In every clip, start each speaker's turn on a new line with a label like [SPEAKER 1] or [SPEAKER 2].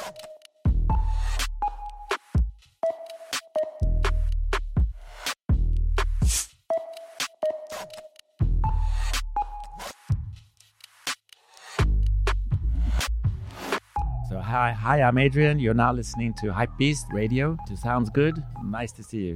[SPEAKER 1] So hi, I'm Adrian. You're now listening to Hypebeast Radio. It sounds good. Nice to see you.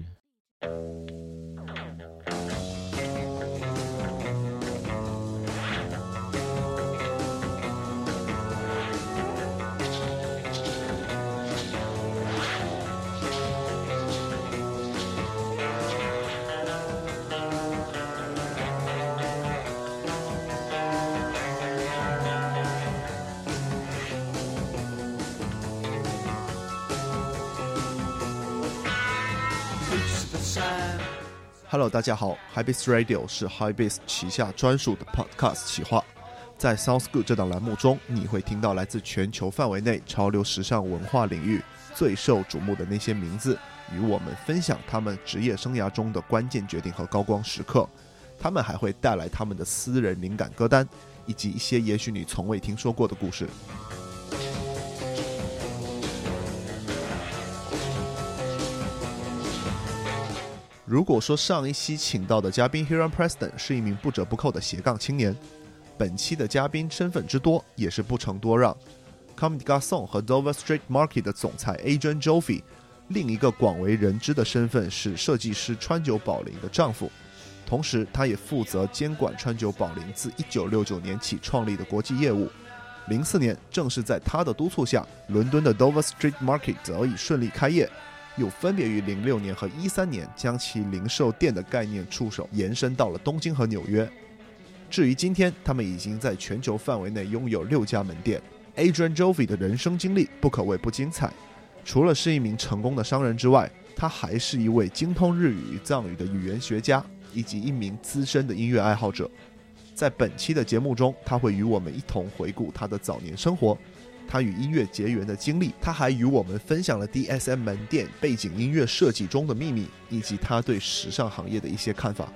[SPEAKER 2] Hello， 大家好 ，Hypebeast Radio 是 Hypebeast 旗下专属的 Podcast 企划。在 Sounds Good 这档栏目中，你会听到来自全球范围内潮流时尚文化领域最受瞩目的那些名字，与我们分享他们职业生涯中的关键决定和高光时刻。他们还会带来他们的私人灵感歌单，以及一些也许你从未听说过的故事。如果说上一期请到的嘉宾 Hiram Preston 是一名不折不扣的斜杠青年，本期的嘉宾身份之多也是不成多让。Comme des Garçons 和 Dover Street Market 的总裁 Adrian Joffe， 另一个广为人知的身份是设计师川久保玲的丈夫，同时他也负责监管川久保玲自1969年起创立的国际业务。04年正是在他的督促下，伦敦的 Dover Street Market 得以顺利开业，又分别于06年和13年将其零售店的概念触手延伸到了东京和纽约。至于今天，他们已经在全球范围内拥有6家门店。Adrian Joffe 的人生经历不可谓不精彩，除了是一名成功的商人之外，他还是一位精通日语与藏语的语言学家，以及一名资深的音乐爱好者。在本期的节目中，他会与我们一同回顾他的早年生活，他与音乐结缘的经历，他还与我们分享了 DSM 门店背景音乐设计中的秘密，以及他对时尚行业的一些看法。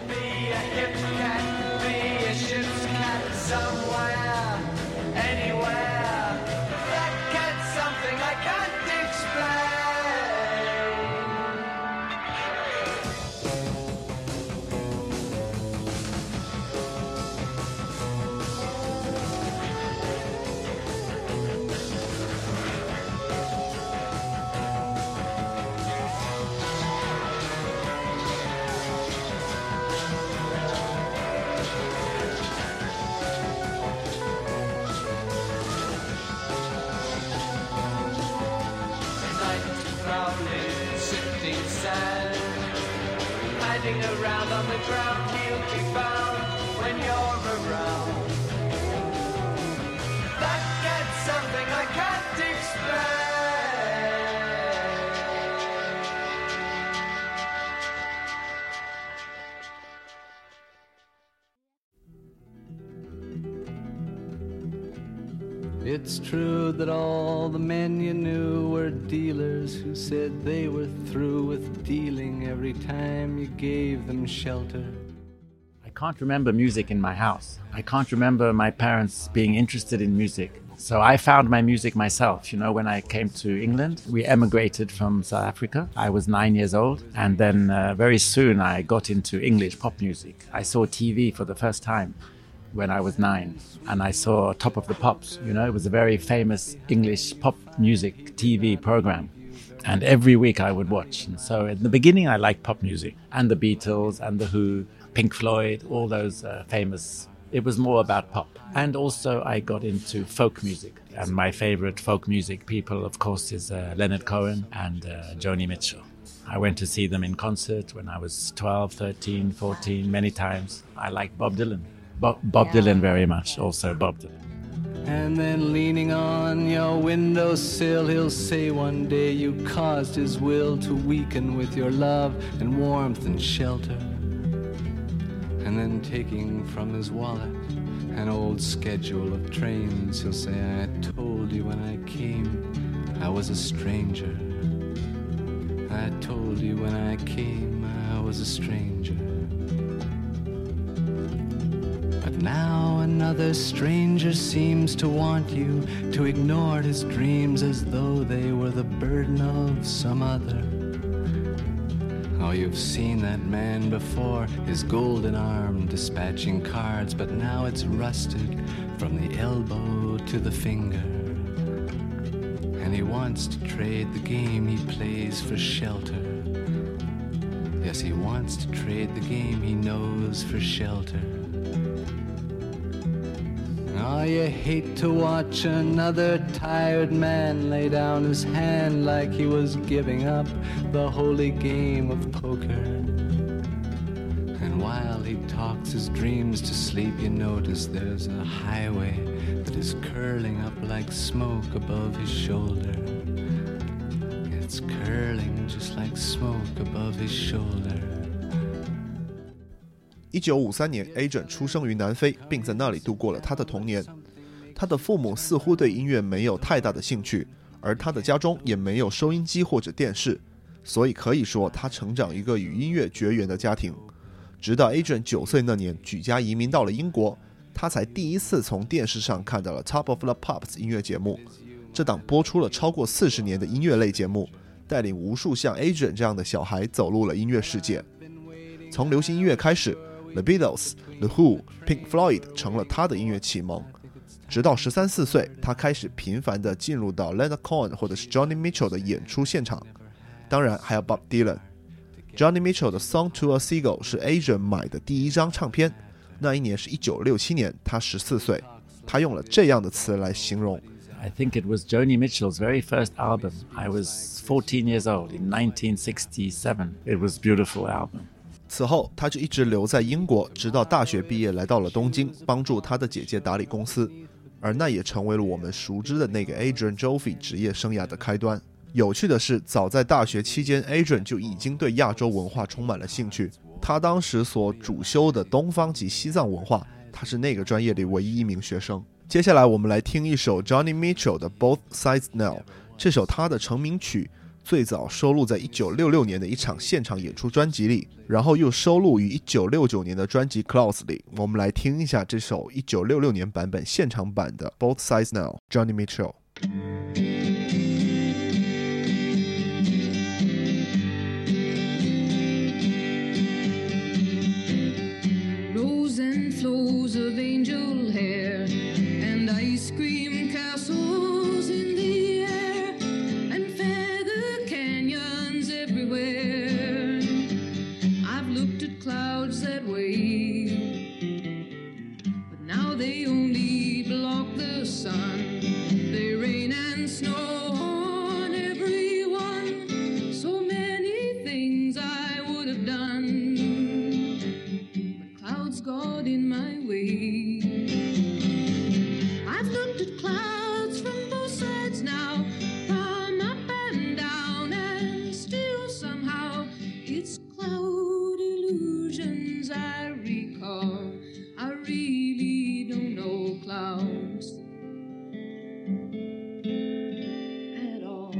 [SPEAKER 3] Around on the ground, he'll be found when you're around. That gets something I can't explain. It's true that all the men you knew were dealers who said they were through with dealing every time you gave them shelter.
[SPEAKER 1] I can't remember music in my house. I can't remember my parents being interested in music. So I found my music myself. You know, when I came to England, we emigrated from South Africa. I was 9 years old. And then very soon I got into English pop music. I saw TV for the first time when I was 9, and I saw Top of the Pops. You know, it was a very famous English pop music TV program, and every week I would watch. And so in the beginning I liked pop music and the Beatles and the Who, Pink Floyd, all those famous. It was more about pop. And also I got into folk music, and my favorite folk music people, of course, is Leonard Cohen and Joni Mitchell. I went to see them in concert when I was 12, 13, 14, many times. I liked Bob Dylan. Bob Dylan very much, also Bob Dylan.
[SPEAKER 3] And then leaning on your windowsill, he'll say one day you caused his will to weaken with your love and warmth and shelter. And then taking from his wallet an old schedule of trains, he'll say, I told you when I came I was a stranger. I told you when I came I was a stranger. But Now another stranger seems to want you to ignore his dreams as though they were the burden of some other. Oh, you've seen that man before, his golden arm dispatching cards, but now it's rusted from the elbow to the finger. And he wants to trade the game he plays for shelter. Yes, he wants to trade the game he knows for shelter. Oh, you hate to watch another tired man lay down his hand like he was giving up the holy game of poker. And while he talks his dreams to sleep, you notice there's a highway that is curling up like smoke above his shoulder. It's curling just like smoke above his shoulder.
[SPEAKER 2] 1953年 Adrian 出生于南非，并在那里度过了他的童年。他的父母似乎对音乐没有太大的兴趣，而他的家中也没有收音机或者电视，所以可以说他成长一个与音乐绝缘的家庭。直到 Adrian 9岁那年举家移民到了英国，他才第一次从电视上看到了 Top of the Pops 音乐节目。这档播出了超过40年的音乐类节目，带领无数像 Adrian 这样的小孩走入了音乐世界。从流行音乐开始， The Beatles、The Who、Pink Floyd 成了他的音乐启蒙。直到13、14岁，他开始频繁地进入到 Leonard Cohen 或者是 Johnny Mitchell 的演出现场，当然还有 Bob Dylan。Johnny Mitchell 的 Song to a Seagull 是 Adrian 买的第一张唱片，那一年是1967年，他14岁。他用了这样的词来形容。
[SPEAKER 1] I think it was Joni Mitchell's very first album. I was 14 years old in 1967. It was a beautiful album.
[SPEAKER 2] 此后他就一直留在英国，直到大学毕业来到了东京，帮助他的姐姐打理公司，而那也成为了我们熟知的那个 Adrian Joffe 职业生涯的开端。有趣的是，早在大学期间 Adrian 就已经对亚洲文化充满了兴趣。他当时所主修的东方及西藏文化，他是那个专业里唯一一名学生。接下来我们来听一首 Johnny Mitchell 的 Both Sides Now， 这首他的成名曲最早收录在1966年的一场现场演出专辑里，然后又收录于1969年的专辑 Clouds 里。我们来听一下这首1966年版本现场版的 Both Sides Now， Johnny
[SPEAKER 4] Mitchell。Rows and flows of angel hair and ice cream castles in the air and feather canyons everywhere. I've looked at clouds that way, but now they only block the sun. They rain and snow on everyone. So many things I would have done, but clouds got in my way. I've looked at clouds from both sides now, from up and down, and still somehow it's cloud illusions I recall. I really don't know clouds at all.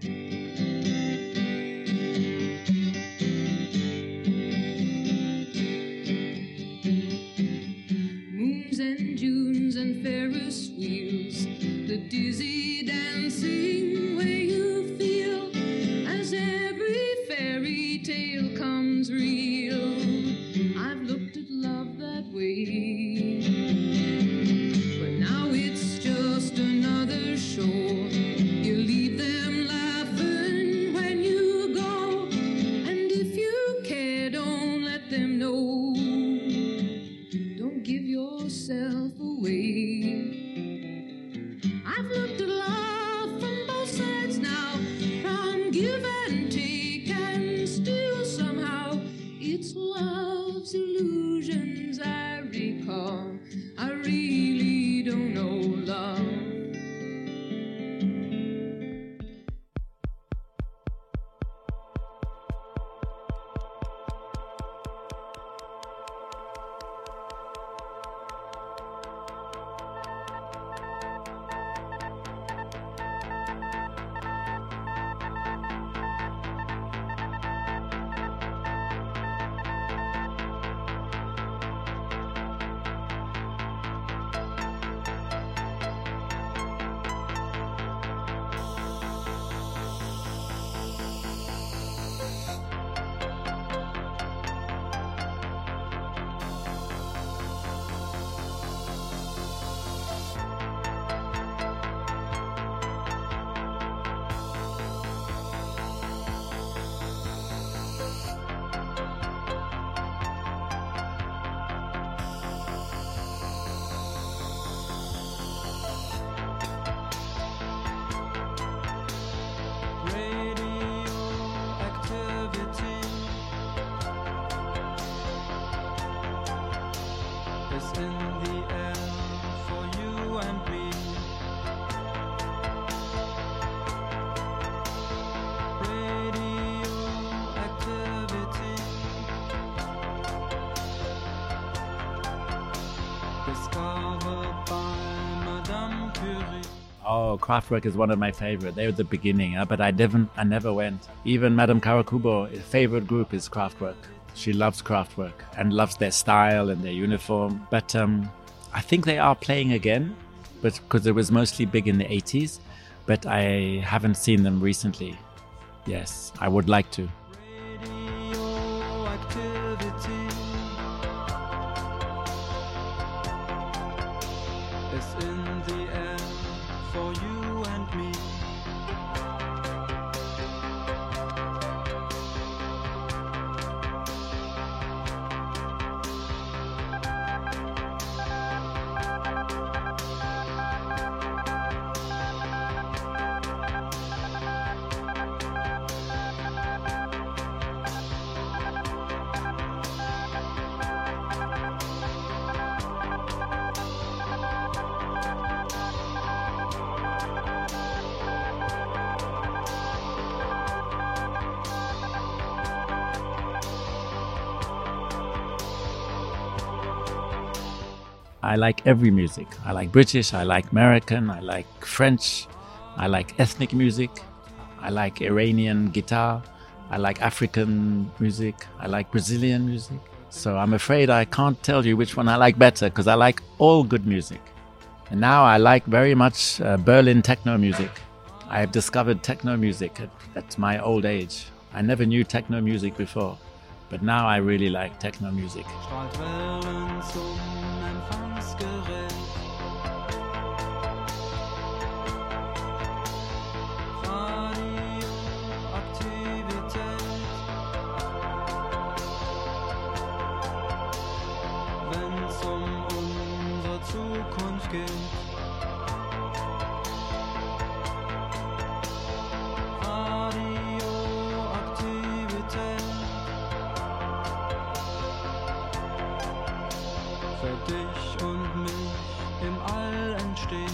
[SPEAKER 4] Moons and dunes and Ferris wheels, the dizzy dancing way you feel as every fairy tale comes real. I've looked at love that way, but now it's just another show. You leave them laughing when you go, and if you care, don't let them know. Don't give yourself away. I've looked at love
[SPEAKER 1] Oh, Kraftwerk is one of my favorite. They were the beginning, but I never went. Even Madame Karakubo, her favorite group is Kraftwerk. She loves Kraftwerk and loves their style and their uniform. But I think they are playing again, but because it was mostly big in the 80s. But I haven't seen them recently. Yes, I would like to. I like every music. I like British, I like American, I like French, I like ethnic music, I like Iranian guitar, I like African music, I like Brazilian music. So I'm afraid I can't tell you which one I like better because I like all good music. And now I like very much Berlin techno music. I have discovered techno music at my old age. I never knew techno music before, but now I really like techno music.
[SPEAKER 3] Für dich und mich im All entsteht.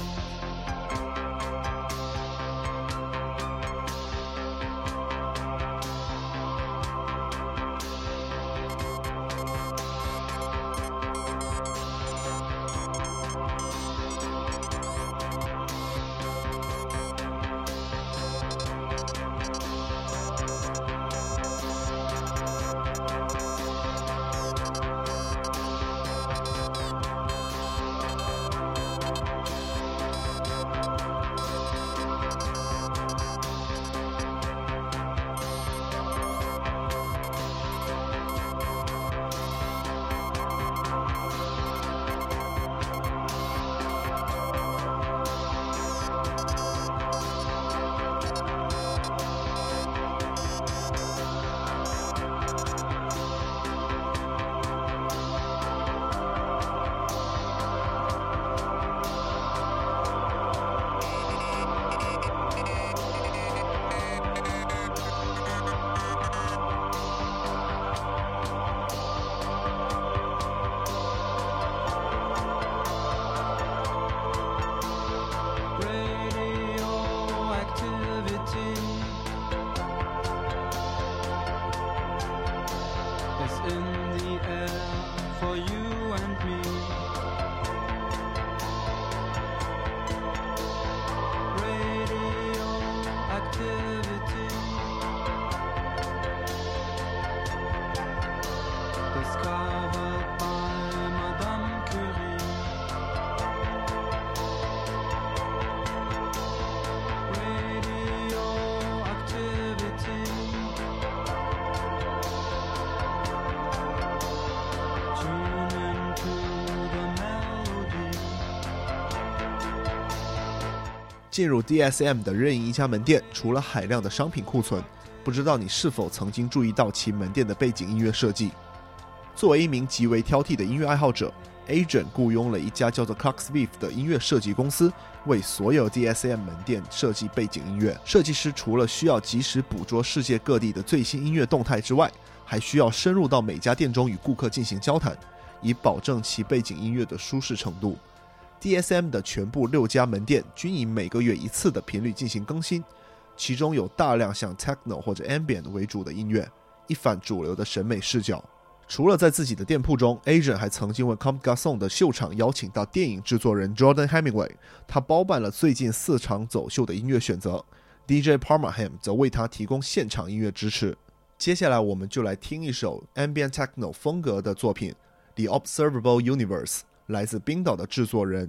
[SPEAKER 2] 进入 DSM 的任意一家门店，除了海量的商品库存，不知道你是否曾经注意到其门店的背景音乐设计。作为一名极为挑剔的音乐爱好者， Adrian 雇佣了一家叫做 Coxbeef 的音乐设计公司，为所有 DSM 门店设计背景音乐。设计师除了需要及时捕捉世界各地的最新音乐动态之外，还需要深入到每家店中与顾客进行交谈，以保证其背景音乐的舒适程度。DSM 的全部6家门店均以每个月一次的频率进行更新，其中有大量像 Techno 或者 Ambient 为主的音乐，一反主流的审美视角。 除了在自己的店铺中， Asian 还曾经为 Comme des Garçons 的秀场邀请到电影制作人 Jordan Hemingway， 他包办了最近4场走秀的音乐选择， DJ Parmaham 则为他提供现场音乐支持。接下来我们就来听一首 Ambient Techno 风格的作品 The Observable Universe， 来自冰岛的制作人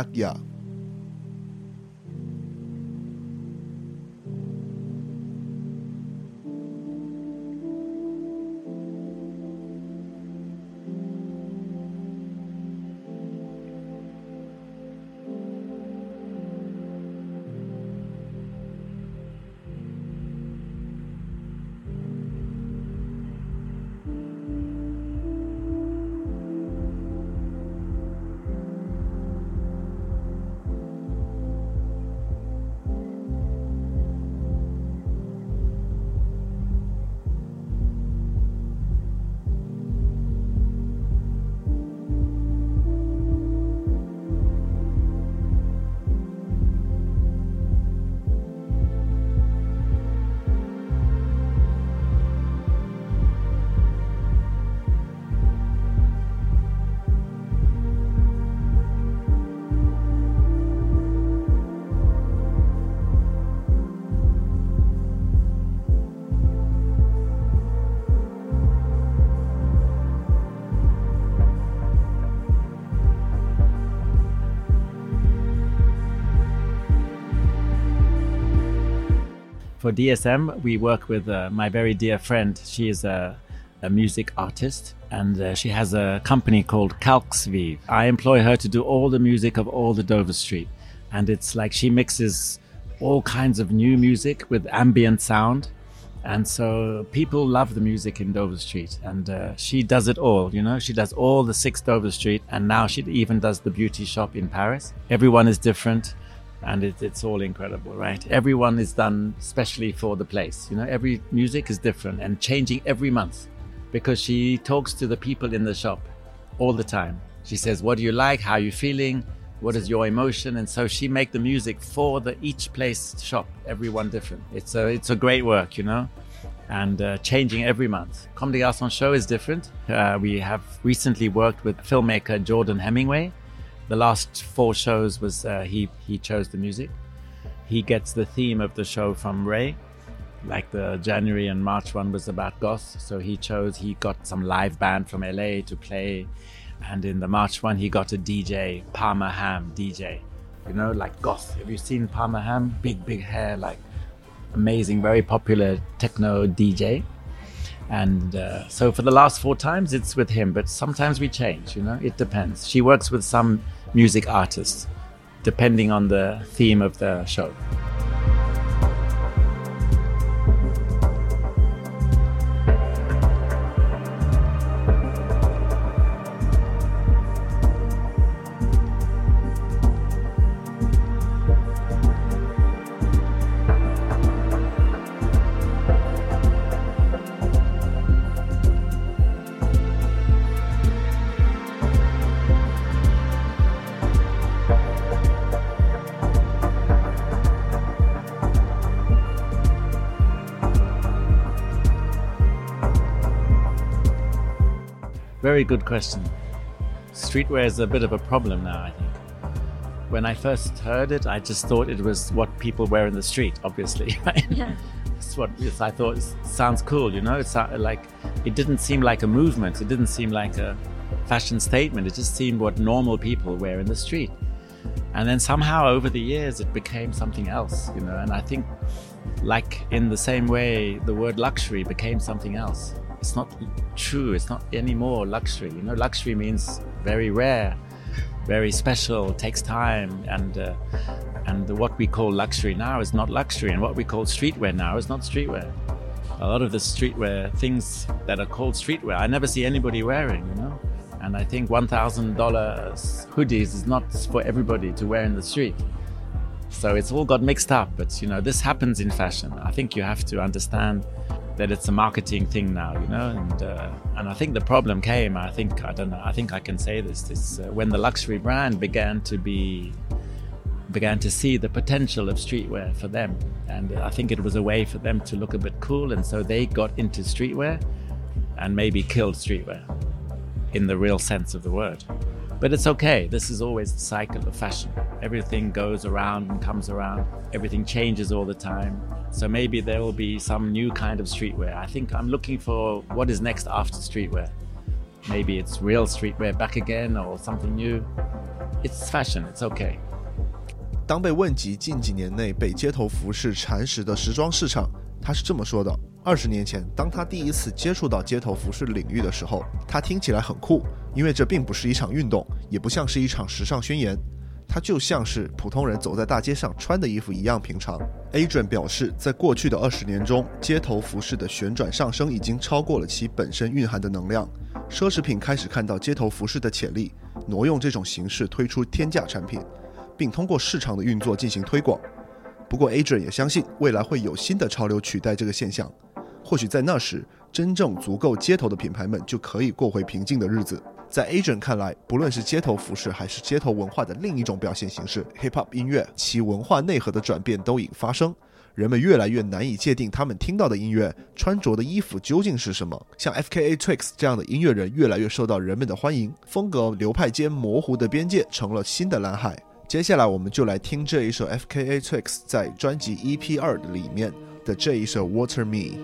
[SPEAKER 1] Yakia。For DSM, we work with my very dear friend. She is a music artist, and she has a company called Kalksviv. I employ her to do all the music of all the Dover Street. And it's like she mixes all kinds of new music with ambient sound. And so people love the music in Dover Street. And she does it all, you know. She does all the 6 Dover Street. And now she even does the beauty shop in Paris. Everyone is different. And it's all incredible, right? Everyone is done specially for the place. You know, every music is different and changing every month because she talks to the people in the shop all the time. She says, what do you like? How are you feeling? What is your emotion? And so she make the music for each place shop, everyone different. It's a great work, you know, and changing every month. Comme des Garçons show is different. We have recently worked with filmmaker Jordan Hemingway. The last 4 shows was he chose the music. He gets the theme of the show from Ray. Like the January and March one was about goth, so he got some live band from LA to play. And in the March one, he got a DJ, Parmaham DJ. You know, like goth. Have you seen Parmaham? Big hair, like amazing, very popular techno DJ. And so for the last 4 times, it's with him. But sometimes we change, you know, it depends. She works with some music artists, depending on the theme of the show. Very good question. Streetwear is a bit of a problem now, I think. When I first heard it, I just thought it was what people wear in the street, obviously. Right? Yeah. That's what I thought. It sounds cool, you know. It didn't seem like a movement. It didn't seem like a fashion statement. It just seemed what normal people wear in the street. And then somehow over the years, it became something else, you know. And I think, like in the same way, the word luxury became something else. It's not true. It's not anymore luxury. You know, luxury means very rare, very special, takes time, and what we call luxury now is not luxury, and what we call streetwear now is not streetwear. A lot of the streetwear things that are called streetwear, I never see anybody wearing, you know. And I think $1,000 hoodies is not for everybody to wear in the street. So it's all got mixed up. But you know, this happens in fashion. I think you have to understand that it's a marketing thing now, you know, and I think the problem came, I think I can say this, when the luxury brand began to see the potential of streetwear for them, and I think it was a way for them to look a bit cool, and so they got into streetwear, and maybe killed streetwear in the real sense of the word. But it's okay. This is always the cycle of fashion. Everything goes around and comes around. Everything changes all the time. So maybe there will be some new kind of streetwear. I think I'm looking for what is next after streetwear. Maybe it's real streetwear back again or something new. It's fashion. It's okay.
[SPEAKER 2] 当被问及近几年内被街头服饰蚕食的时装市场，他是这么说的：20年前，当他第一次接触到街头服饰领域的时候，他听起来很酷，因为这并不是一场运动，也不像是一场时尚宣言，它就像是普通人走在大街上穿的衣服一样平常。Adrian 表示，在过去的20年中，街头服饰的旋转上升已经超过了其本身蕴含的能量，奢侈品开始看到街头服饰的潜力，挪用这种形式推出天价产品，并通过市场的运作进行推广。不过 Adrian 也相信未来会有新的潮流取代这个现象，或许在那时，真正足够街头的品牌们就可以过回平静的日子。在 Adrian 看来，不论是街头服饰还是街头文化的另一种表现形式 Hip-Hop 音乐，其文化内核的转变都已发生，人们越来越难以界定他们听到的音乐、穿着的衣服究竟是什么。像 FKA Twigs 这样的音乐人越来越受到人们的欢迎，风格流派间模糊的边界成了新的蓝海。接下来我们就来听这一首 FKA Twigs 在专辑 EP2 里面的这一首 Water Me。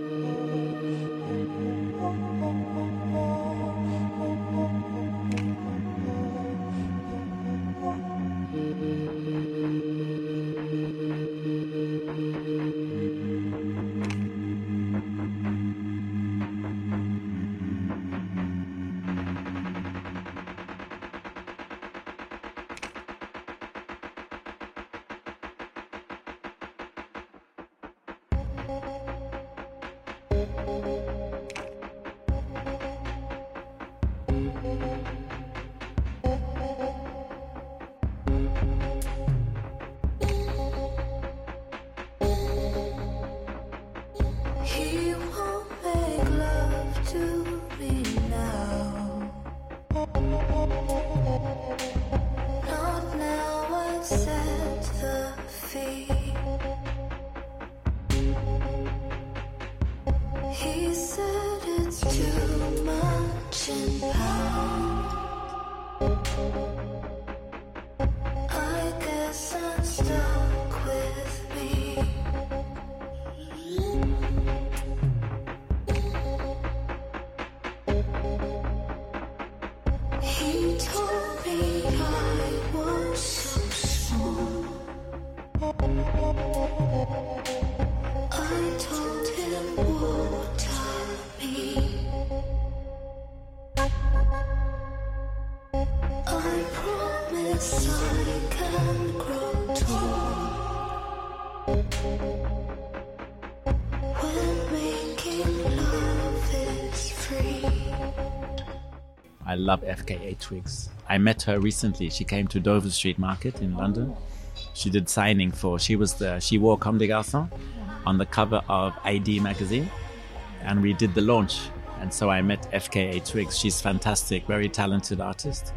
[SPEAKER 1] I love FKA Twigs. I met her recently. She came to Dover Street Market in London. She did signing for, she wore Comme des Garçons on the cover of ID magazine, and we did the launch. And so I met FKA Twigs. She's fantastic, very talented artist.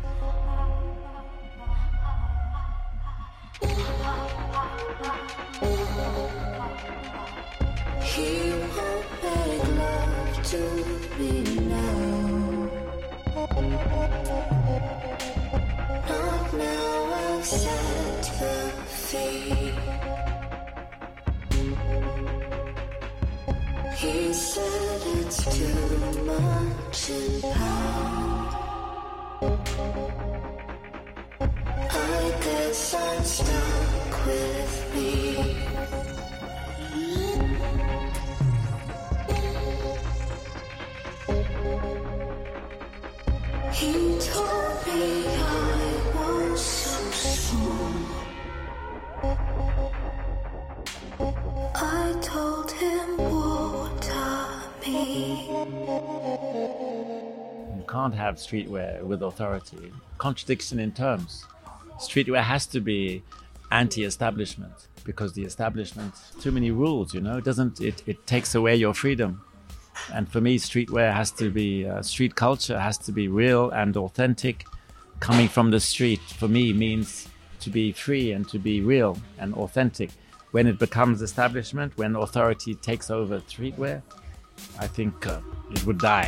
[SPEAKER 5] He said it's too much in power. I guess I'm stuck with me. He told me I was so small. I told him water me.
[SPEAKER 1] You can't have streetwear with authority. Contradiction in terms. Streetwear has to be anti-establishment because the establishment, too many rules, you know, it takes away your freedom. And for me, streetwear has to be, street culture has to be real and authentic. Coming from the street, for me, means to be free and to be real and authentic. When it becomes establishment, when authority takes over streetwear, I think it would die.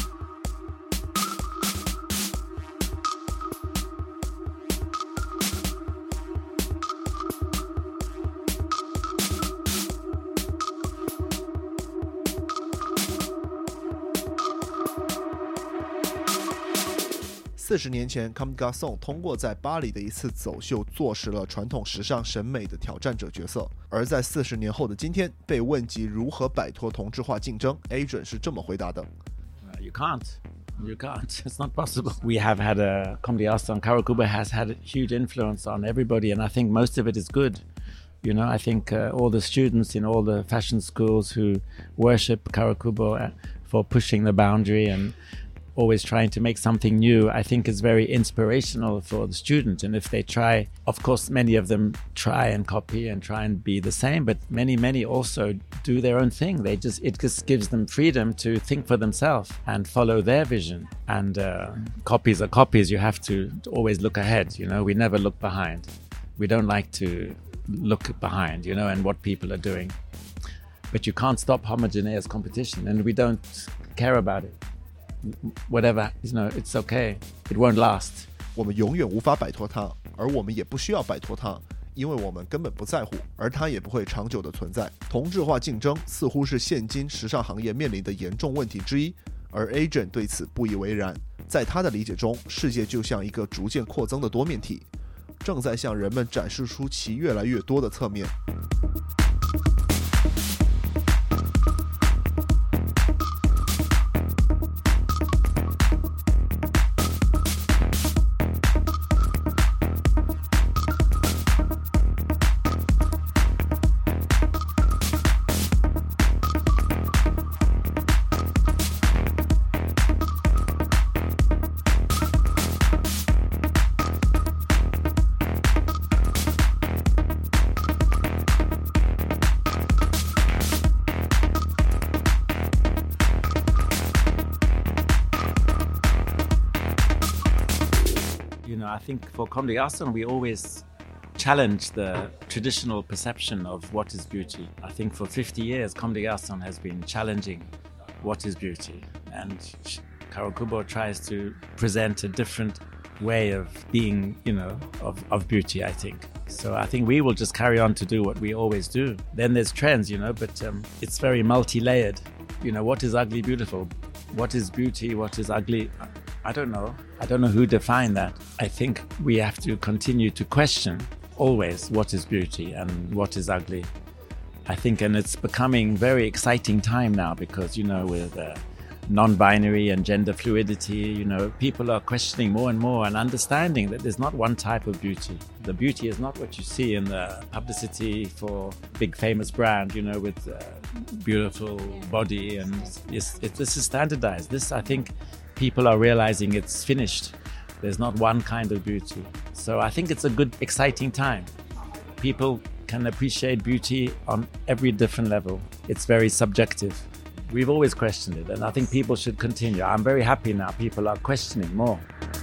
[SPEAKER 2] 40年前 Comme des Garçons 通过在巴黎的一次走秀坐实了传统时尚审美的挑战者角色，而在40年后的今天被问及如何摆脱同质化竞争， Adrian 是这么回答的。
[SPEAKER 1] You can't. It's not possible. We have had a Comme des Garçons. Kawakubo has had a huge influence on everybody, and I think most of it is good. You know, I think all the students in all the fashion schools who worship Kawakubo for pushing the boundary and always trying to make something new, I think is very inspirational for the student. And if they try, of course, many of them try and copy and try and be the same, but many also do their own thing. It just gives them freedom to think for themselves and follow their vision. And copies are copies. You have to always look ahead. You know, we never look behind. We don't like to look behind, you know, and what people are doing. But you can't stop homogeneous competition, and we don't care about it.Whatever, you know, it's okay. It won't last.
[SPEAKER 2] 我们永远无法摆脱它，而我们也不需要摆脱它，因为我们根本不在乎，而它也不会长久的存在。同质化竞争似乎是现今时尚行业面临的严重问题之一，而 Adrian 对此不以为然。在他的理解中，世界就像一个逐渐扩增的多面体，正在向人们展示出其越来越多的侧面。
[SPEAKER 1] I think for Comme des Garçons, we always challenge the traditional perception of what is beauty. I think for 50 years, Comme des Garçons has been challenging what is beauty. And Kawakubo tries to present a different way of being, you know, of beauty, I think. So I think we will just carry on to do what we always do. Then there's trends, you know, but it's very multi-layered. You know, what is ugly beautiful? What is beauty? What is ugly? I don't know. I don't know who defined that. I think we have to continue to question always what is beauty and what is ugly. I think, and it's becoming very exciting time now because, you know, with non-binary and gender fluidity, you know, people are questioning more and more and understanding that there's not one type of beauty. The beauty is not what you see in the publicity for big famous brand, you know, with beautiful body, and this is standardized. This, I think, people are realizing it's finished. There's not one kind of beauty. So I think it's a good, exciting time. People can appreciate beauty on every different level. It's very subjective. We've always questioned it, and I think people should continue. I'm very happy now people are questioning more.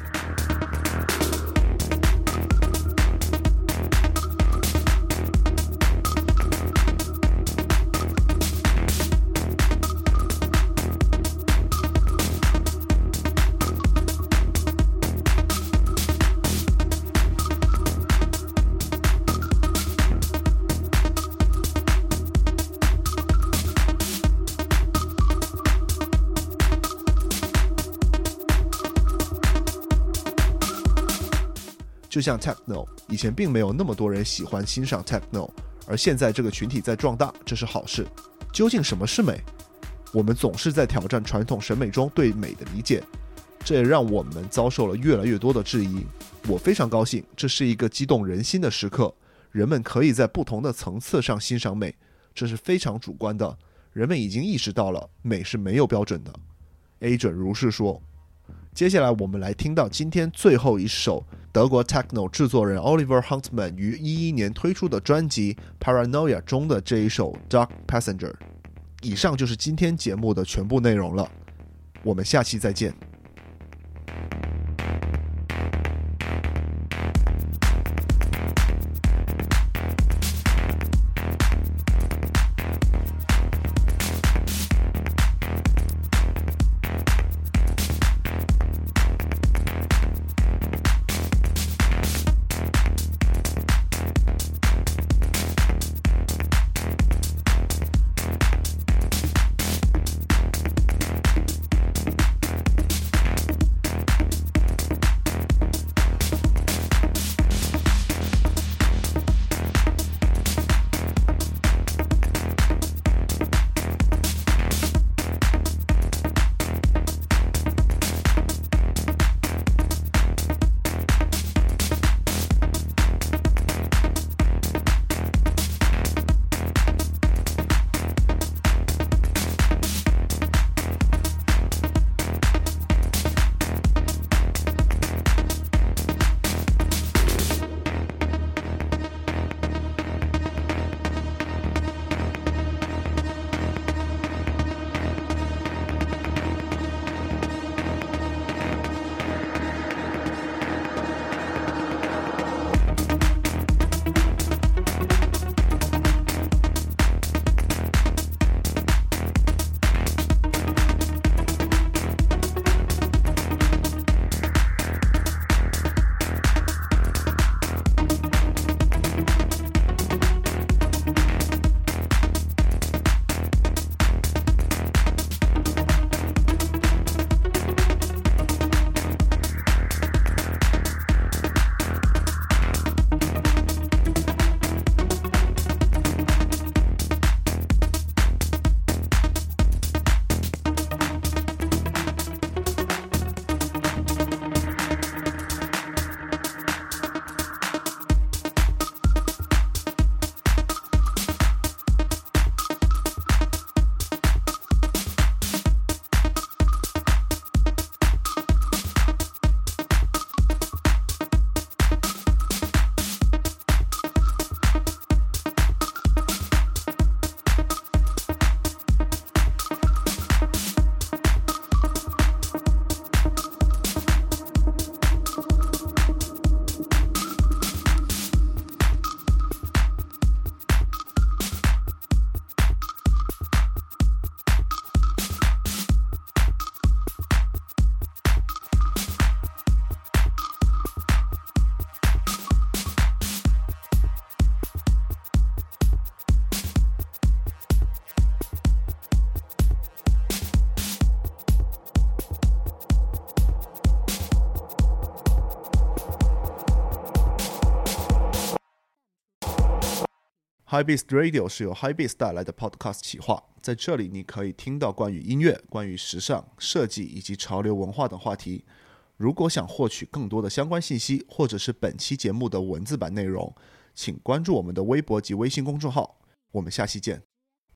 [SPEAKER 2] 就像 Techno， 以前并没有那么多人喜欢欣赏 Techno， 而现在这个群体在壮大，这是好事。究竟什么是美？我们总是在挑战传统审美中对美的理解，这也让我们遭受了越来越多的质疑。我非常高兴，这是一个激动人心的时刻，人们可以在不同的层次上欣赏美，这是非常主观的，人们已经意识到了美是没有标准的。 Adrian 如是说。接下来我们来听到今天最后一首德国 Techno 制作人 Oliver Huntman 于2011年推出的专辑 Paranoia 中的这一首 Dark Passenger。 以上就是今天节目的全部内容了，我们下期再见。 Hypebeast Radio 是由 Hypebeast 带来的 podcast 企划，在这里你可以听到关于音乐、关于时尚、设计以及潮流文化等话题。如果想获取更多的相关信息，或者是本期节目的文字版内容，请关注我们的微博及微信公众号。我们下期见。